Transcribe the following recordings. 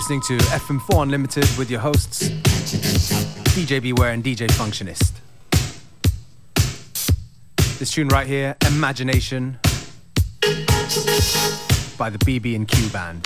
listening to FM4 Unlimited with your hosts, DJ Beware and DJ Functionist. This tune right here, Imagination, by the BB&Q Band.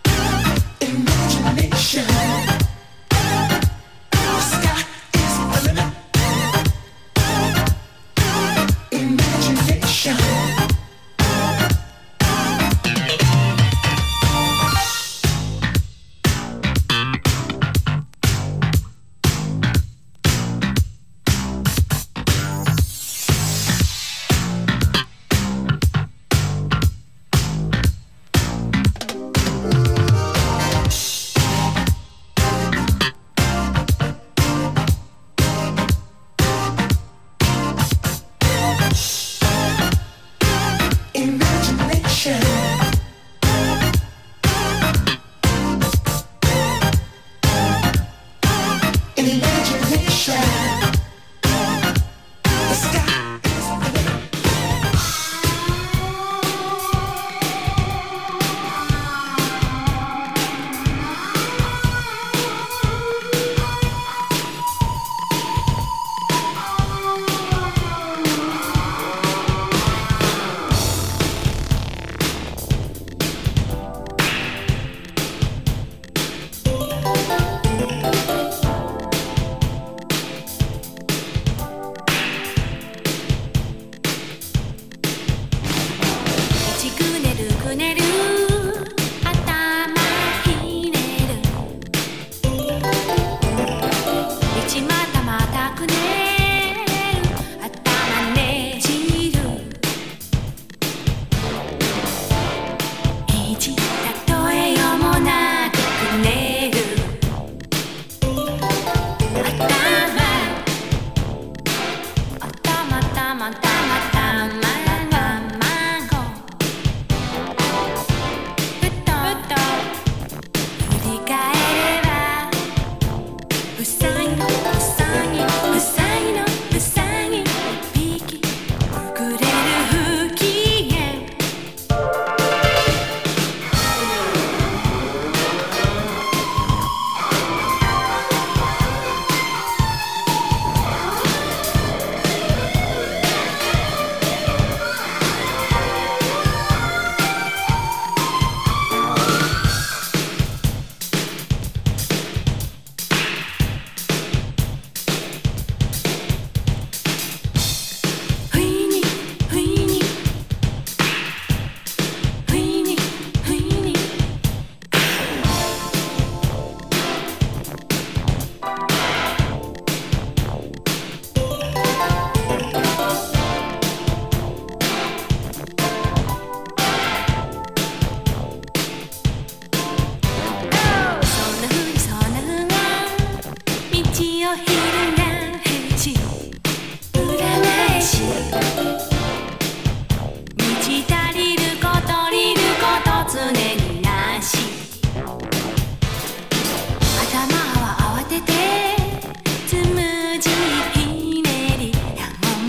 The sky is the limit.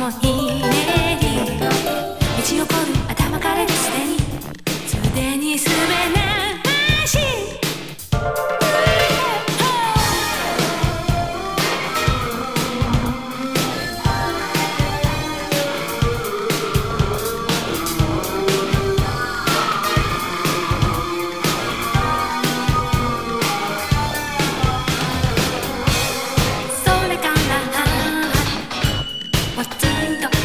もひねり道起こる頭からですでにすでにすべなしそれからポツンと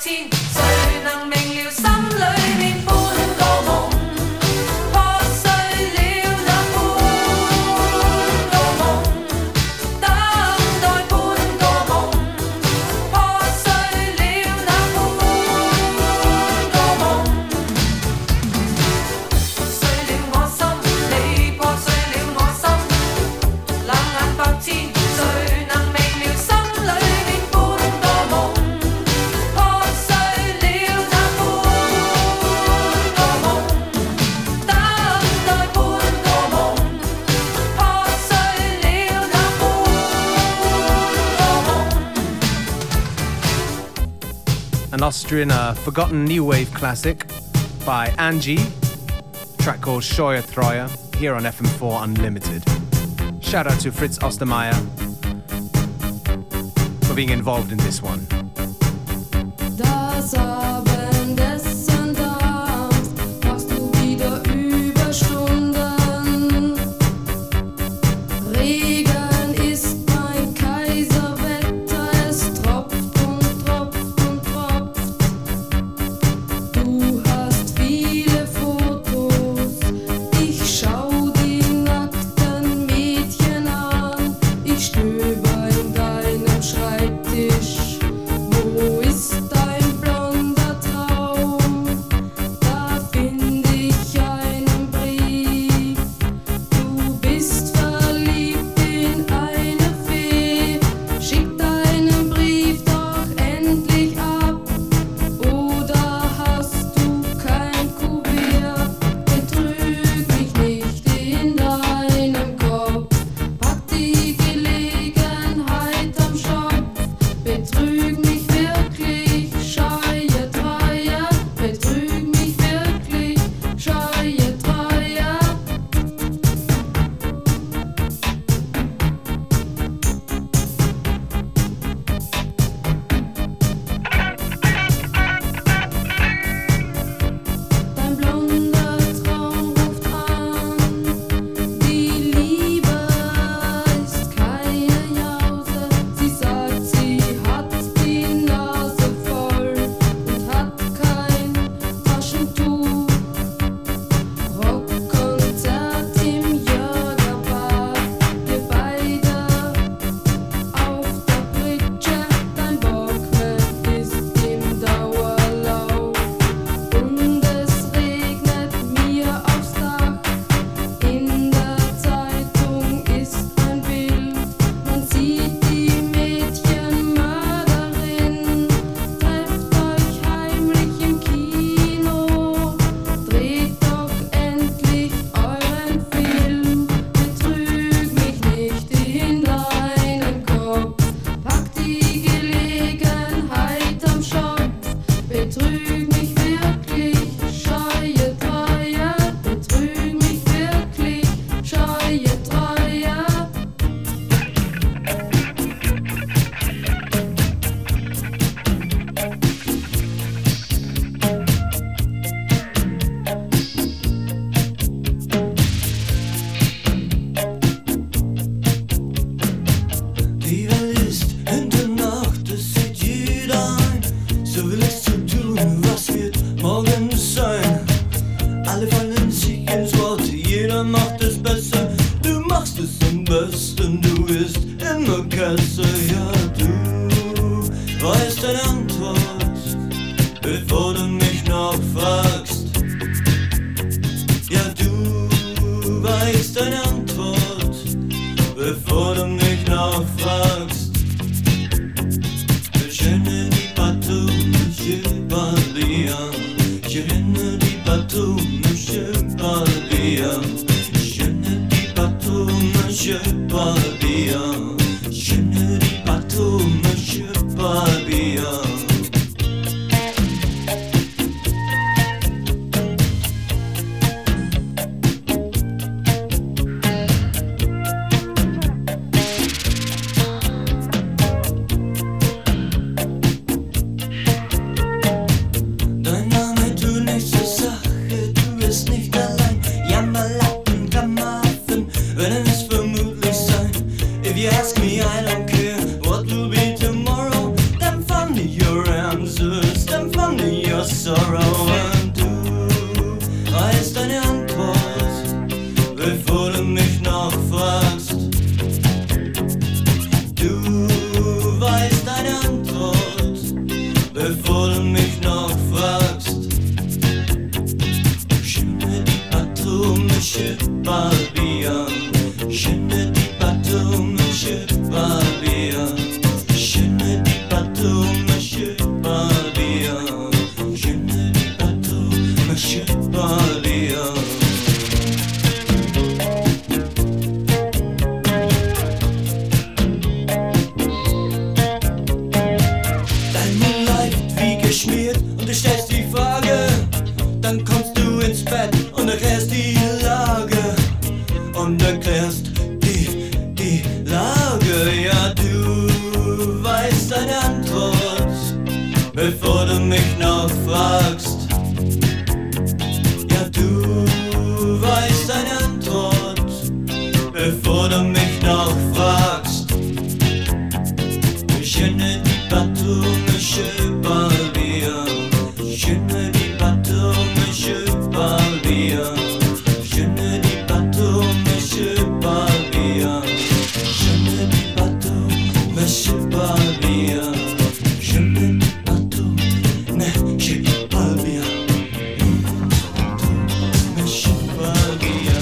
千誰能明了心裏面半個夢破碎了那半個夢等待半個夢破碎了那半個夢碎了我心你破碎了我心冷眼百千誰能明了心裏面半個夢破碎了那半個夢等待半個夢破碎了那半個夢 An Austrian forgotten new wave classic by Angie, track called Scheue Treue, here on FM4 Unlimited. Shout out to Fritz Ostermeier for being involved in this one. Das Abendessen damals machst du wieder Überstunden. Regen ist mein Kaiserwetter, es tropft und tropft und tropft. Du hast viele Fotos, ich schau die nackten Mädchen an. Ich stöber in deinem Schreibtisch. Wo ist dein blonder Traum? Da find ich einen Brief. Du bist verliebt in eine Fee. Schick deinen Brief doch endlich ab. Oder hast du kein Kuvert? Betrüg mich nicht in deinem Kopf. Pack die Gelegenheit am Schopf. Betrüg mich wirklich, scheue Treue. Betrüg mich wirklich, scheue Treue. Dein blonder Traum ruft an. Die Liebe ist keine Jause. Sie sagt, sie hat die Nase voll und hat kein Taschentuch. Rockkonzert im Jörgerbad. Wir beide auf der Pritsche. Dein Bockmann ist im Dauerlauf. Und es regnet mir aufs Dach. In der Zeitung ist ein Bild. Man sieht die Mädchenmörderin. Trefft euch heimlich im Kino. Dreht doch endlich euren Film. Betrüg mich nicht in deinen Kopf. Pack die Gelegenheit am Schopf. Betrüg mich wirklich, scheue Treue. Betrüg mich wirklich, scheue Treue. Die Welt ist in der Nacht, das sieht jeder ein. So will es zu tun, was wird morgen sein? Alle fallen sich ins Wort, jeder macht es besser. Du machst es am besten, du bist immer Kesse. Ja, du weißt deine Antwort, bevor du mich noch fragst. Ja, du weißt deine Antwort, bevor du mich noch fragst. Je ne dis pas tout, monsieur Barbillon. Je ne dis pas tout, monsieur Barbillon. Je ne dis pas tout, monsieur Barbillon. Je ne dis pas tout, monsieur Barbillon. Dein Name tut nichts zur Sache, du bist nicht allein. Jammerlappen, Kameraden, werden es vermutlich sein. If you ask me, I don't care what will be tomorrow. Then find me your answers. sorrow. Und du weißt deine Antwort, bevor du mich noch fragst. Du weißt deine Antwort, bevor du mich noch fragst. Je ne dis pas tout, monsieur Barbier. Je ne dis pas tout, monsieur Barbier. Je ne dis pas tout, monsieur Barbier. Je ne dis pas tout, monsieur Barbier. Dein Moonlight wie geschmiert und du stellst die Frage. Dann kommst du ins Bett und erklärst die Lage. Und erklärst die Lage. Ja, du weißt deine Antwort, bevor du mich noch fragst. Ja, du weißt deine Antwort, bevor du mich noch fragst. Je ne dis pas tout, monsieur Barbier. Je ne dis pas tout, monsieur Barbier. Je ne dis pas tout, monsieur Barbier. Je ne dis pas tout, monsieur Barbier. Je ne dis pas tout, monsieur Barbier. Monsieur Barbier.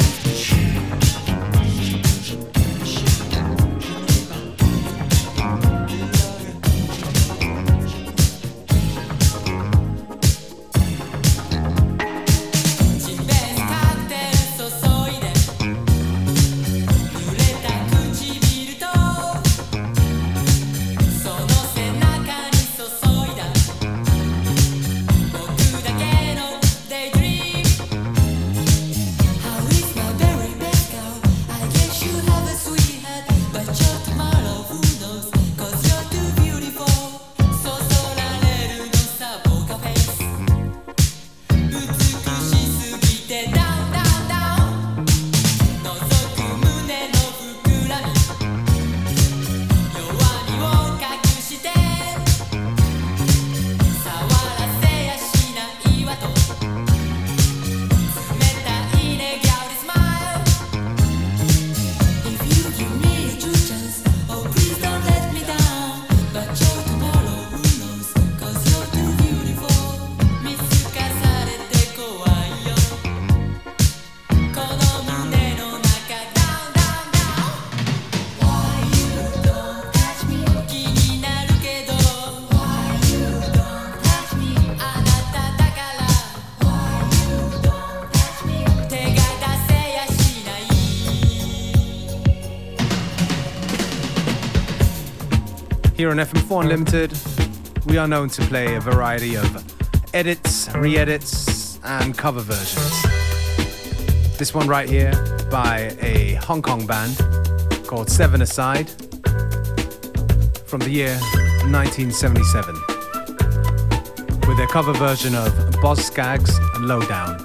Here on FM4 Unlimited, we are known to play a variety of edits, re-edits, and cover versions. This one right here by a Hong Kong band called Seven Aside from the year 1977 with their cover version of Boz Scaggs and Lowdown.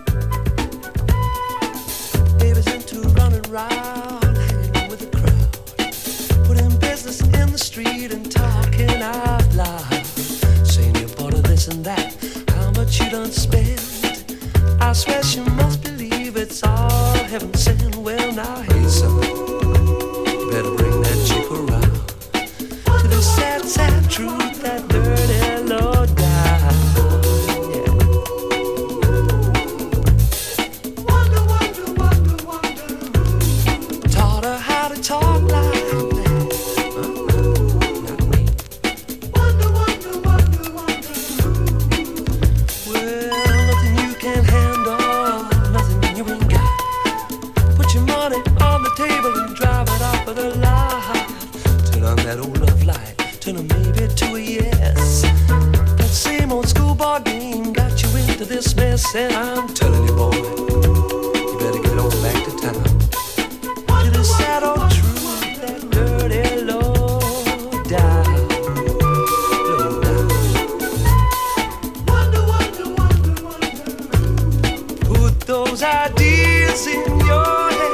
Baby's into running round, hanging with the crowd, putting business in the street and talking out loud, saying you bought her this and that, how much you done spend. I swear she must believe it's all heaven sent. Well now, hey son, you better bring that chick around to the sad, sad truth, that dirty low down. Taught her how to talk like that. Not me. Well, nothing you can't handle, nothing you ain't got. Put your money on the table and drive it off of the lot. Turn on that old love light, turn a maybe to a yes. That same old schoolboy game got you into this mess, and I'm telling you, boy, you better get on back to town. To the sad old truth, that dirty low down, low down. Put those ideas in your head.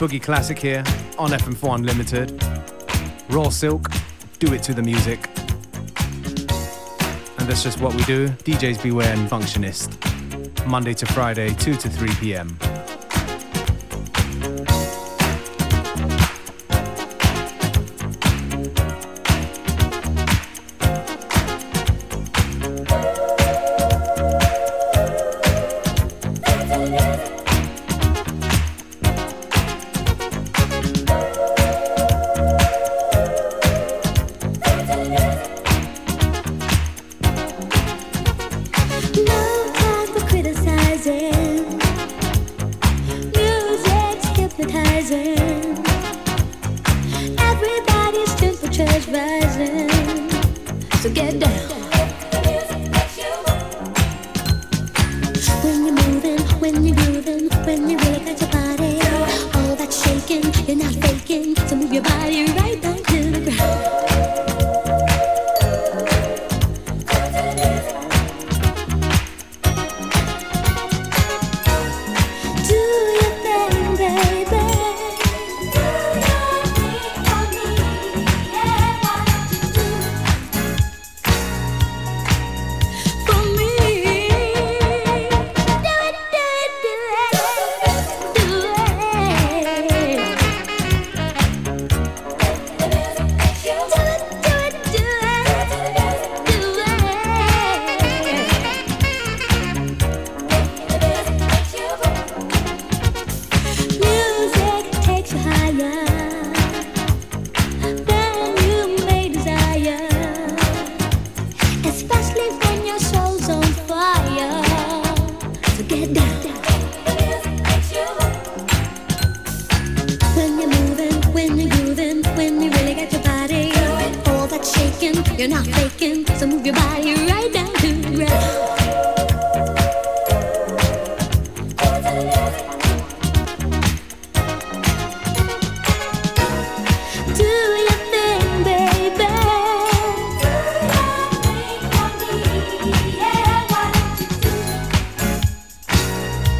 boogie classic here on FM4 Unlimited. Raw Silk, do it to the music. And that's just what we do. DJs Beware and Functionist. Monday to Friday, 2 to 3 p.m. You're not faking, so move your body right down to the ground. Do your thing, baby. Do your thing for me, yeah, why don't you do?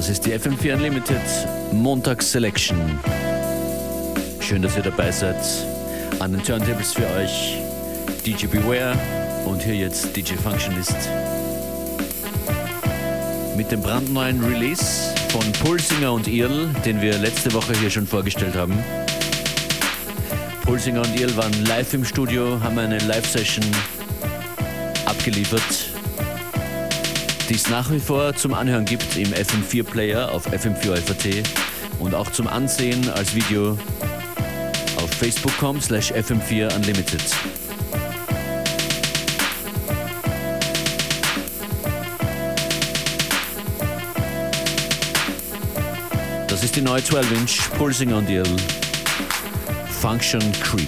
Das ist die FM4 Unlimited Montags Selection. Schön, dass ihr dabei seid. An den Turntables für euch DJ Beware und hier jetzt DJ Functionist. Mit dem brandneuen Release von Pulsinger und Earl, den wir letzte Woche hier schon vorgestellt haben. Pulsinger und Earl waren live im Studio, haben eine Live-Session abgeliefert, die es nach wie vor zum Anhören gibt im FM4-Player auf FM4 und auch zum Ansehen als Video auf facebook.com/FM4 Unlimited. Das ist die neue 12-Inch Pulsinger und Earl Function Creep.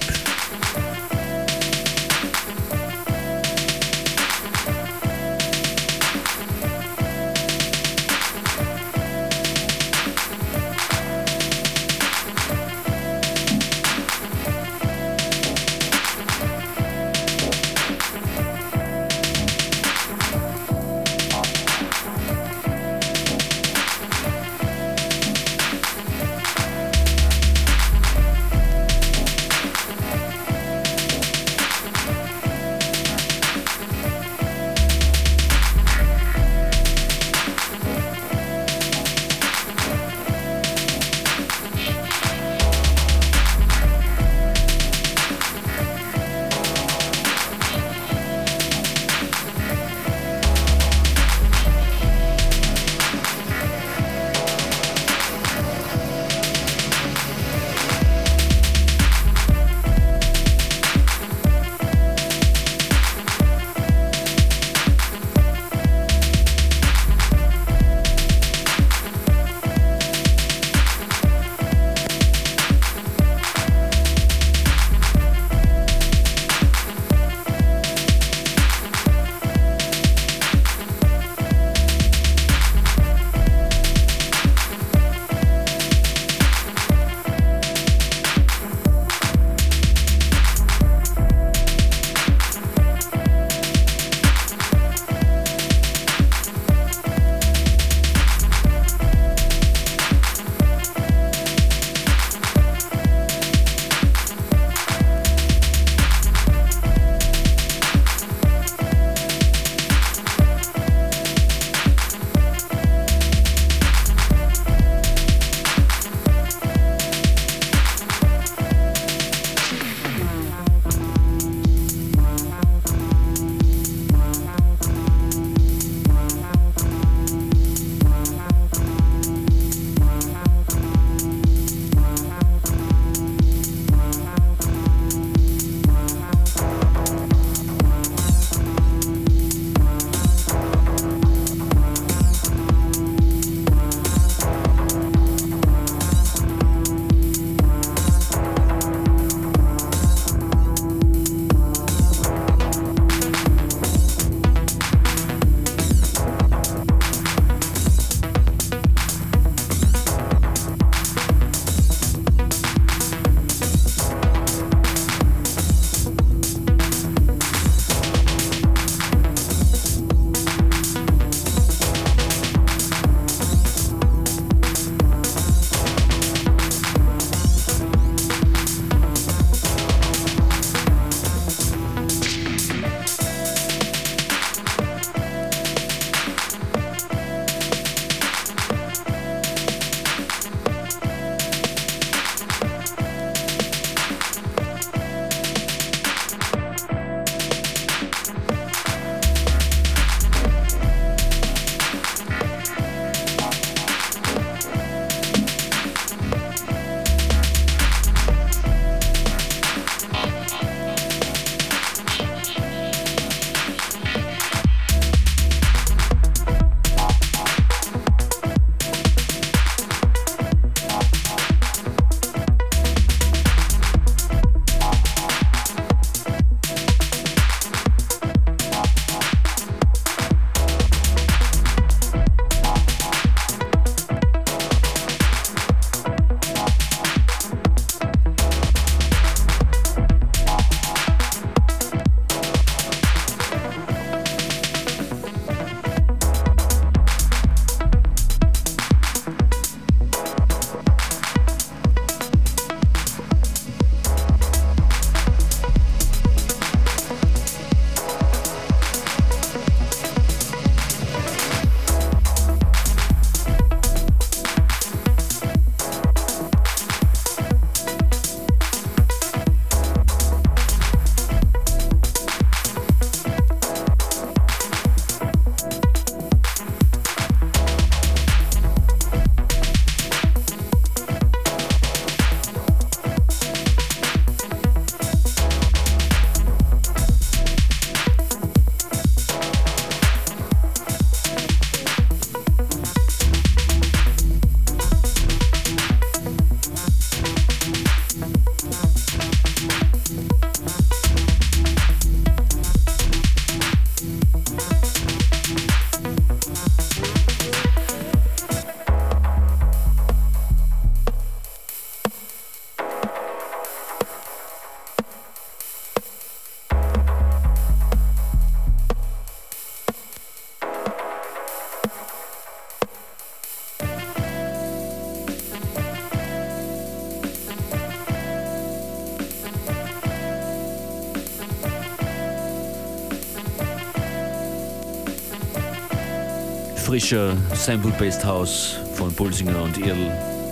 frischer Sample-Based House von Pulsinger und Irl.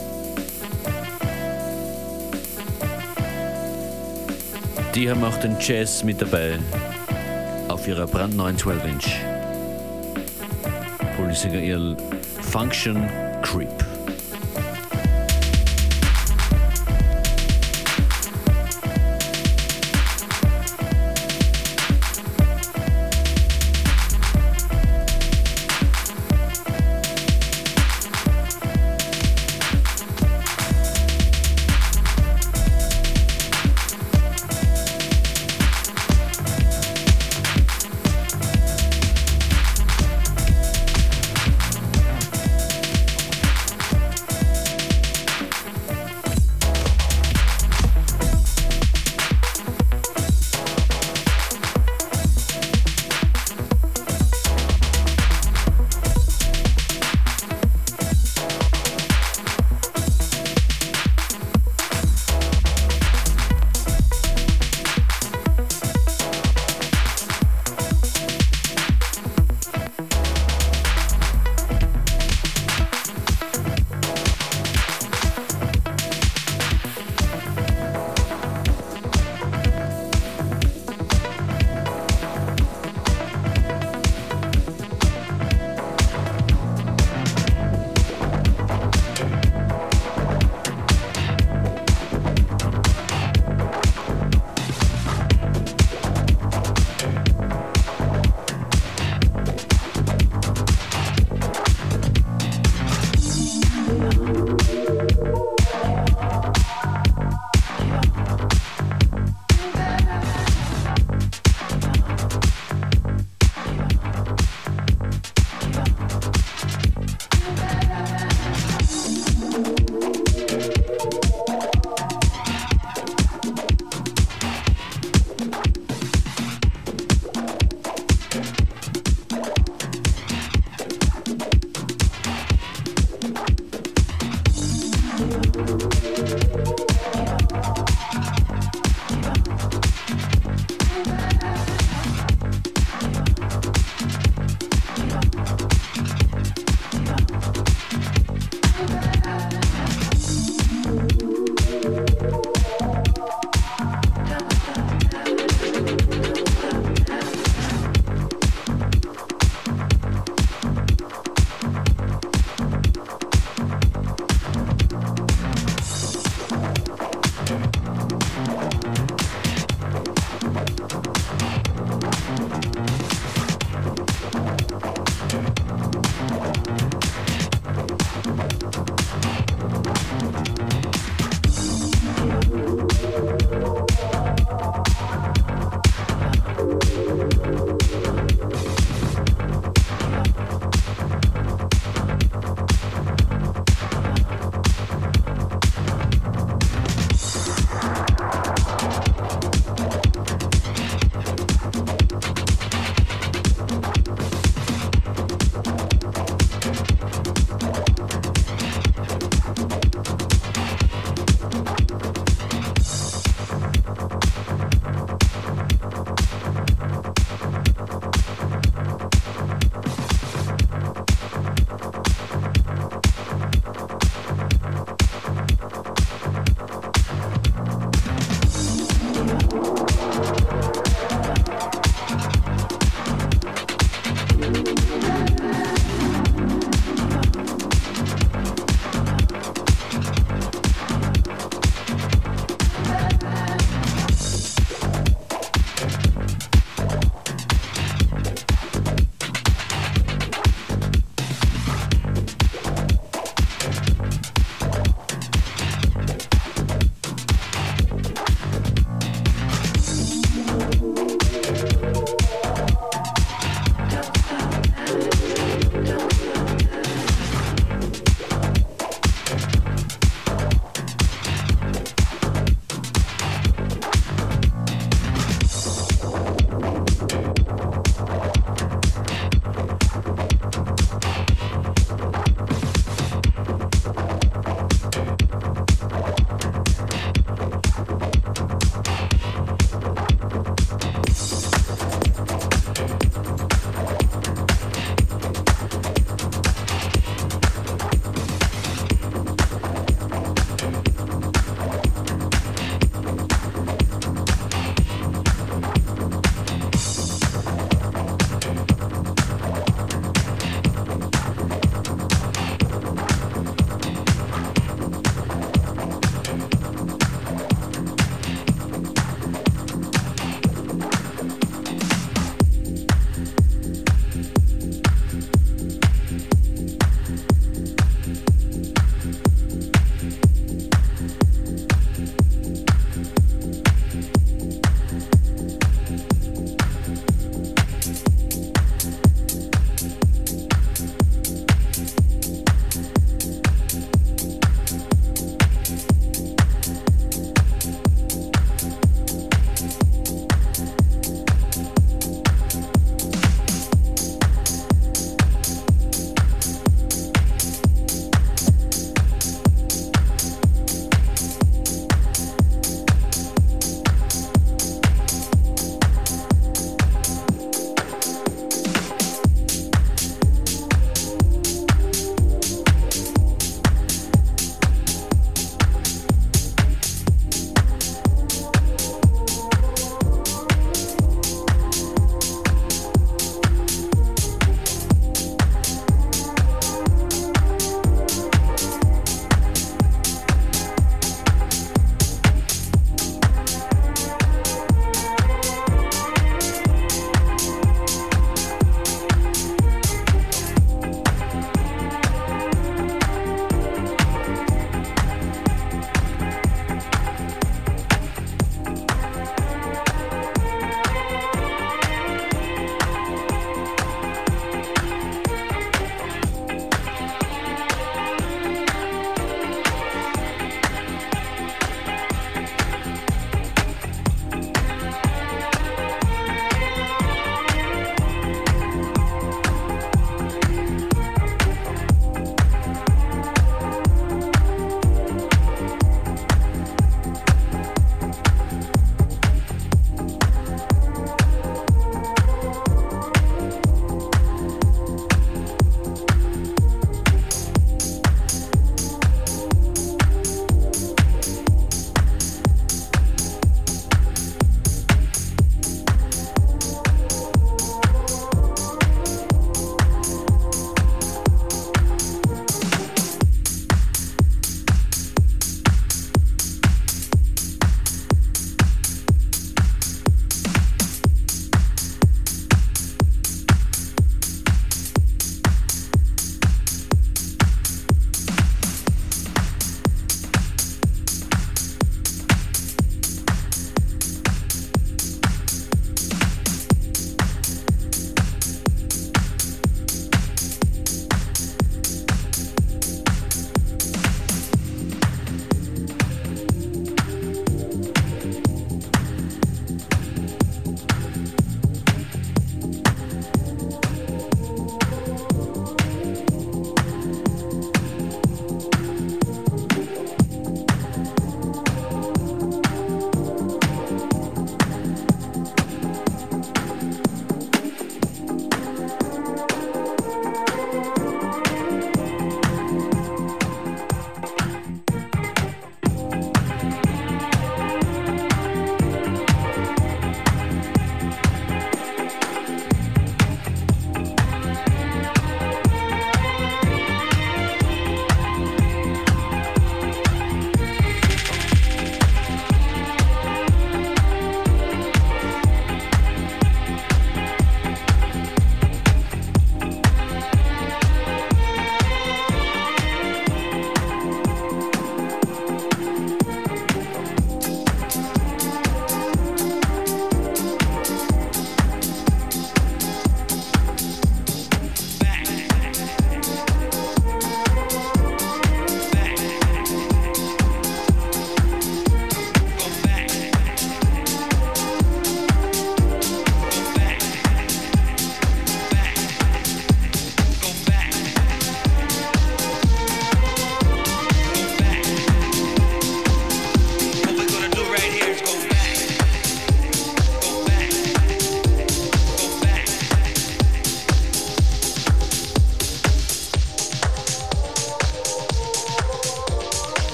Die haben auch den Jazz mit dabei auf ihrer brandneuen 12-Inch. Pulsinger Irl, Function Creep.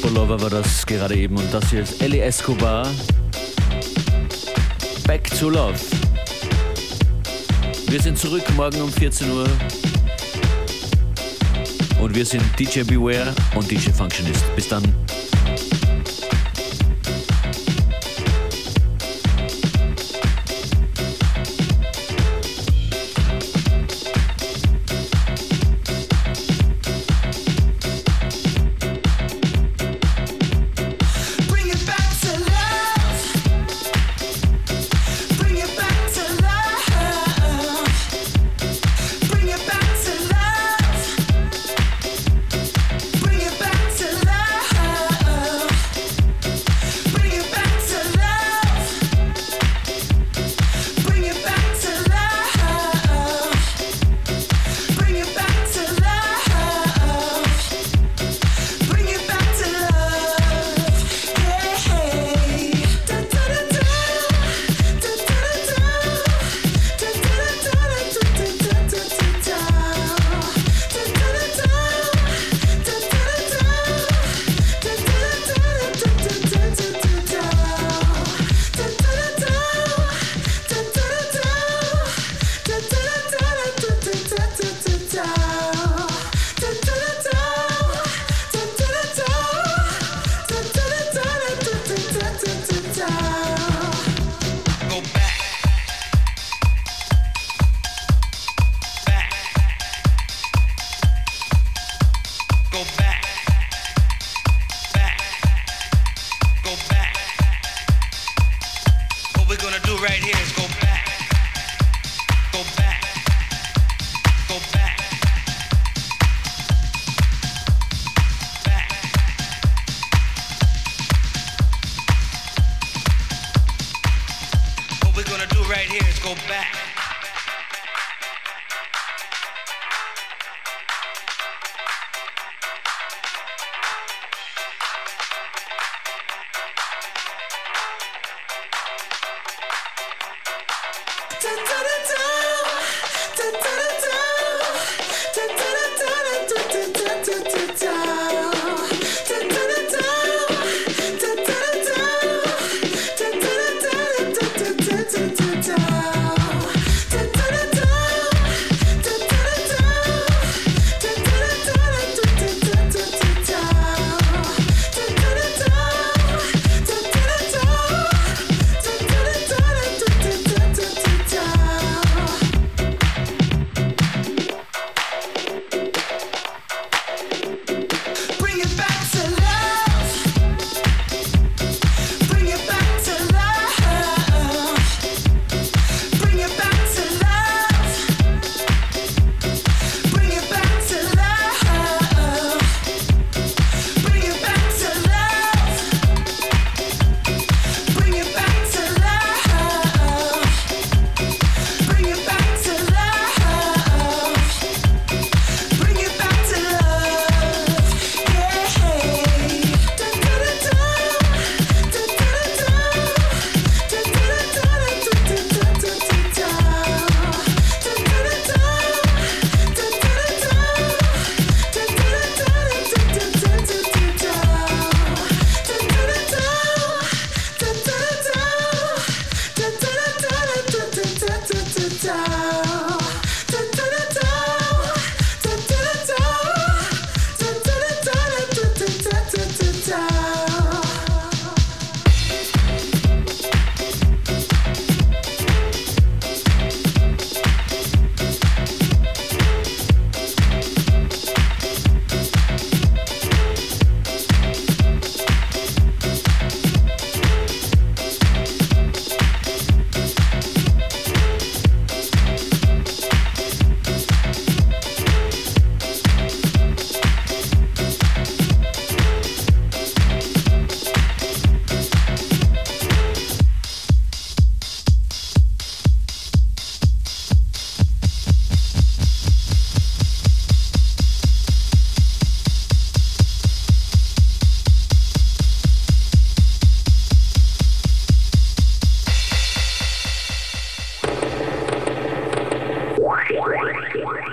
Lover war das gerade eben und das hier ist Ellie Escobar. Back to Love. Wir sind zurück morgen um 14 Uhr und wir sind DJ Beware und DJ Functionist. Bis dann.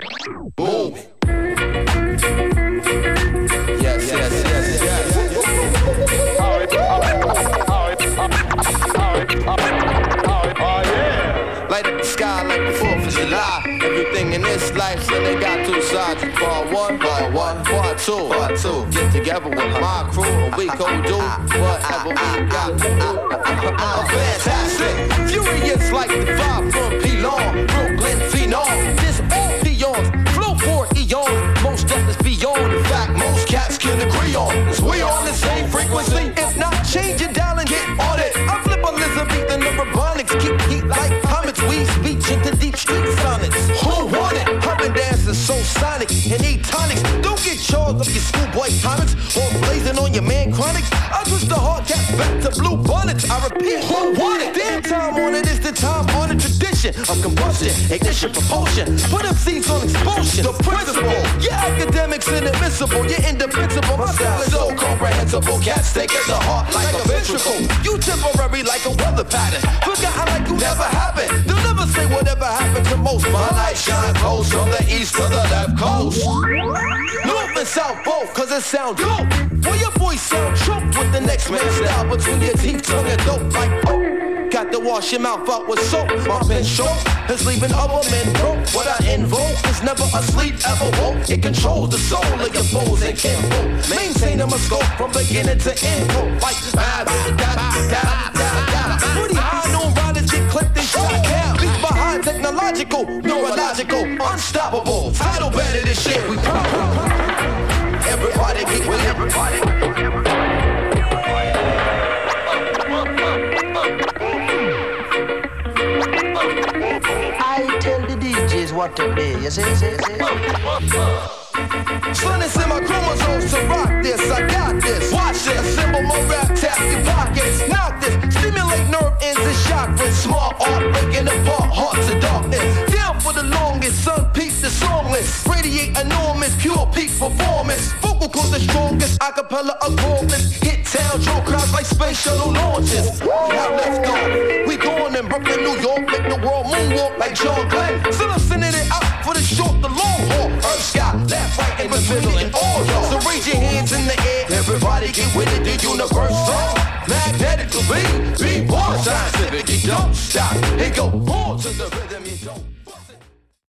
Yes, yes, yes, yes. this life, so they got two sides. Part one, part two. Get together with my crew, and we gon' do whatever we got to do. Fantastic, furious like the vibe from P-Long, Brooklyn Phenom. This all peons, flow for eons. Most of us beyond. In fact, most cats can agree on. Cause we on the same frequency. If not, change your dial and get on it. I flip Elizabethan Urabonics, keep heat like comets. We speech into deep street sonnets. Who want it? Humming dance is so sonic and eat tonics. Don't get charged up your schoolboy comics or blazing on your man chronics. I twist the hard cap back to blue bonnets. I repeat, who want it? Damn time on it is the time on the tradition of combustion, ignition, propulsion. Put them seeds on expulsion. The principle, yeah, academics inadmissible. You're indefensible. My style is so comprehensible. Cats take it to heart like a ventricle. You temporary like a weather pattern. Forgotten like you never happened. They'll never say whatever happened to most. My light shine close from the east to the left coast. North and south both, cause it sound dope. Well, your voice sound choked with the next man's style between your teeth, tongue and dope like oh. Got to wash your mouth out with soap. My pen short is leaving other men broke. What I invoke is never asleep, ever woke. It controls the soul of your foes and kinfolk. Maintain a scope from beginning to end. Like pretty high, no riders get clipped and shot down. Beat behind technological, neurological, unstoppable. Title better this shit. We everybody get with everybody. I tell the DJs what to play, you see? Son, it's in my chromosomes to rock this. I got this. Watch this. Assemble my rap, tap your pockets. Knock this. Stimulate nerve ends and chakras. Smart art breaking apart hearts of darkness. Down for the longest. Sun peaks the songless. Radiate enormous. Pure peak performance. Vocal cords the strongest. Acapella accordless. Hit town. Draw crowds like space shuttle launches. Now let's go. We going in Brooklyn, New York. Make the world moonwalk like John Glenn. Still I'm sending it out for the short, the long haul. Earth, sky, left, right, in between and all y'all. So raise your hands in the air. Everybody get with it. The universal magnetic to be born scientific. You don't stop. It go on to the rhythm. You don't.